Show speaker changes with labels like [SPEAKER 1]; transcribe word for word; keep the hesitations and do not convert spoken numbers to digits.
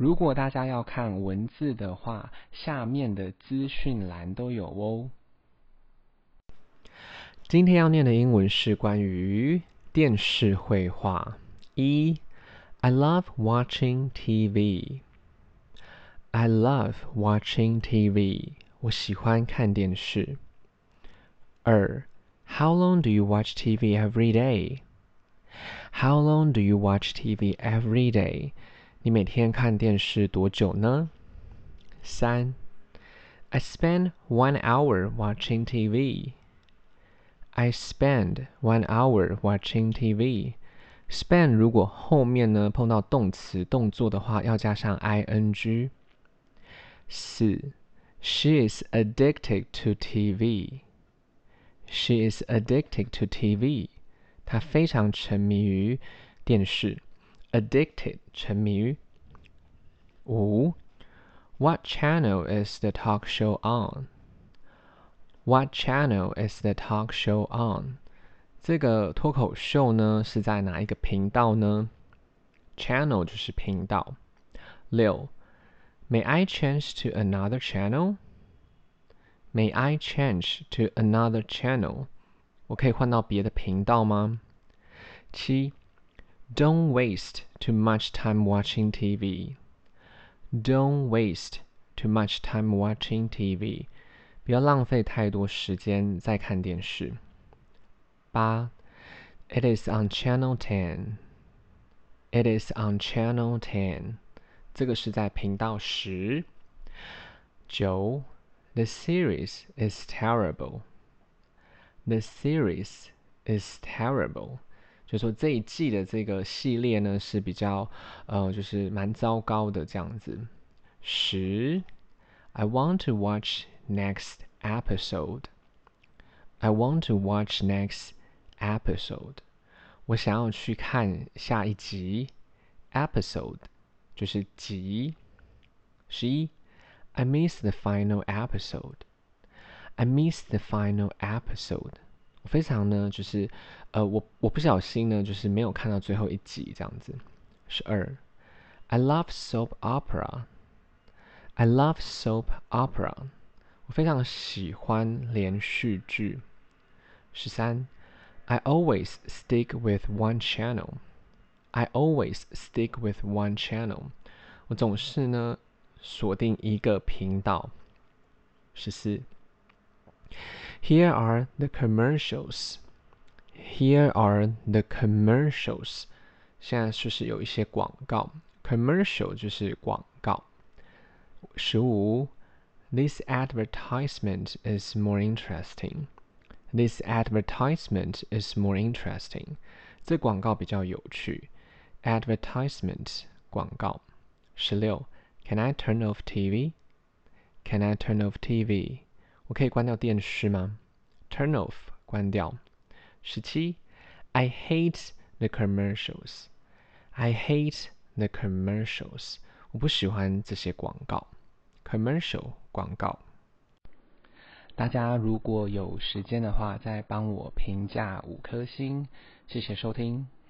[SPEAKER 1] 如果大家要看文字的話，下面的資訊欄都有哦。今天要念的英文是關於電視繪畫。一 I love watching T V. I love watching T V. 我喜歡看電視。二 How long do you watch T V every day? How long do you watch T V every day? 你每天看電視多久呢？三 I spend one hour watching T V. I spend one hour watching T V. Spend 如果後面呢碰到動詞動作的話，要加上 ing。四 She is addicted to T V. She is addicted to T V. 她非常沉迷於電視。Addicted 沉迷於。五 What channel is the talk show on? What channel is the talk show on? 這個脫口秀呢是在哪一個頻道呢？ Channel 就是頻道。六 May I change to another channel? May I change to another channel? 我可以換到別的頻道嗎？七 Don't waste too much time watching T V. Don't waste too much time watching T V. 不要浪費太多時間在看電視。八 It is on channel ten. It is on channel ten. 這個是在頻道十。九 The series is terrible. The series is terrible. 就說這一季的這個系列呢是比較呃就是蠻糟糕的這樣子。十 I want to watch next episode. I want to watch next episode. 我想要去看下一集。Episode 就是集。十一 I missed the final episode. I missed the final episode. 我非常呢，就是呃，我我不小心呢，就是沒有看到最後一集這樣子。十二 I love soap opera. I love soap opera. 我非常喜歡連續劇。十三 I always stick with one channel. I always stick with one channel. 我總是呢鎖定一個頻道。十四Here are the commercials. Here are the commercials. 現在就是有一些廣告。Commercial 就是廣告。十五 This advertisement is more interesting. This advertisement is more interesting. 這廣告比較有趣。Advertisement 廣告。十六 Can I turn off T V? Can I turn off T V? 我可以關掉電視嗎？ Turn off 關掉。十七 I hate the commercials. I hate the commercials. 我不喜歡這些廣告。Commercial 廣告。大家如果有時間的話，再幫我評價五顆星，謝謝收聽。